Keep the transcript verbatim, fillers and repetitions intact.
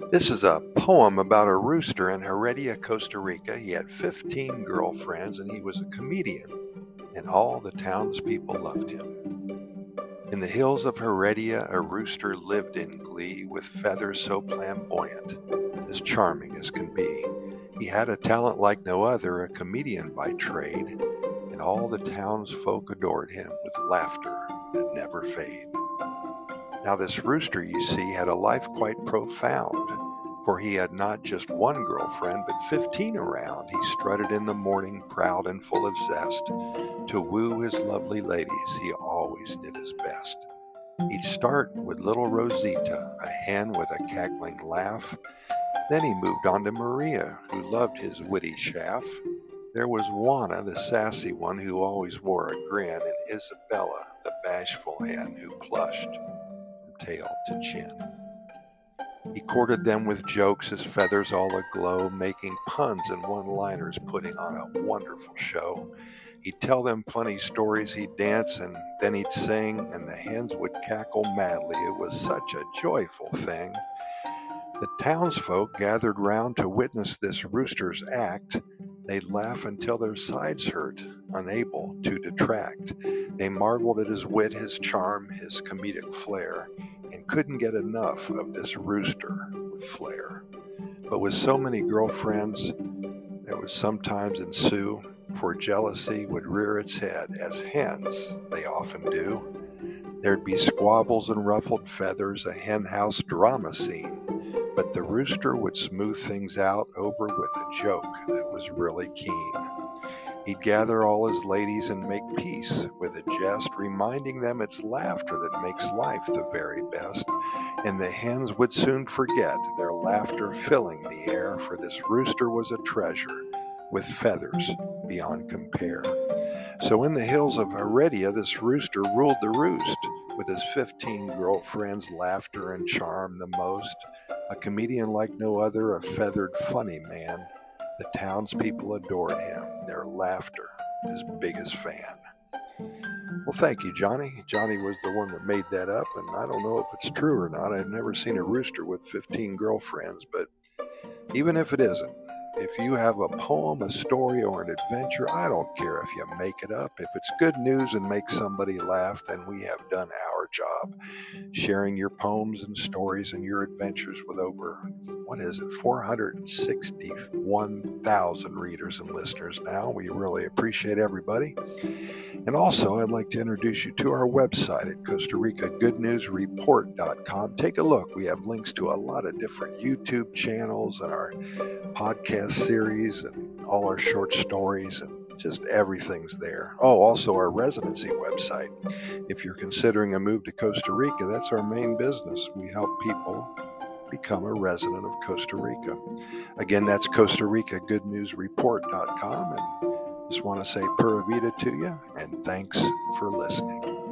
This is a poem about a rooster in Heredia, Costa Rica. He had fifteen girlfriends and he was a comedian, and all the townspeople loved him. In the hills of Heredia, a rooster lived in glee with feathers so flamboyant, as charming as can be. He had a talent like no other, a comedian by trade, and all the townsfolk adored him with laughter that never fade. Now this rooster, you see, had a life quite profound, for he had not just one girlfriend, but fifteen around. He strutted in the morning, proud and full of zest. To woo his lovely ladies, he always did his best. He'd start with little Rosita, a hen with a cackling laugh. Then he moved on to Maria, who loved his witty chaff. There was Juana, the sassy one who always wore a grin, and Isabella, the bashful hen who blushed from tail to chin. He courted them with jokes, his feathers all aglow, making puns and one-liners, putting on a wonderful show. He'd tell them funny stories, he'd dance, and then he'd sing, and the hens would cackle madly. It was such a joyful thing. The townsfolk gathered round to witness this rooster's act. They'd laugh until their sides hurt, unable to detract. They marveled at his wit, his charm, his comedic flair, and couldn't get enough of this rooster with flair. But with so many girlfriends, there would sometimes ensue, for jealousy would rear its head, as hens they often do. There'd be squabbles and ruffled feathers, a hen house drama scene. But the rooster would smooth things out over with a joke that was really keen. He'd gather all his ladies and make peace with a jest, reminding them it's laughter that makes life the very best. And the hens would soon forget their laughter filling the air, for this rooster was a treasure with feathers beyond compare. So in the hills of Heredia, this rooster ruled the roost, with his fifteen girlfriends, laughter and charm the most. A comedian like no other, a feathered, funny man. The townspeople adored him, their laughter his biggest fan. Well, thank you, Johnny. Johnny was the one that made that up, and I don't know if it's true or not. I've never seen a rooster with fifteen girlfriends, but even if it isn't, if you have a poem, a story, or an adventure, I don't care if you make it up. If it's good news and makes somebody laugh, then we have done our job. Sharing your poems and stories and your adventures with over, what is it, four hundred sixty-one thousand readers and listeners now. We really appreciate everybody. And also, I'd like to introduce you to our website at Costa Rica Good News Report dot com. Take a look. We have links to a lot of different YouTube channels and our podcast series and all our short stories, and just everything's there. Oh, also our residency website. If you're considering a move to Costa Rica, that's our main business. We help people become a resident of Costa Rica. Again, that's Costa Rica Good News Report dot com, and just want to say Pura Vida to you, and thanks for listening.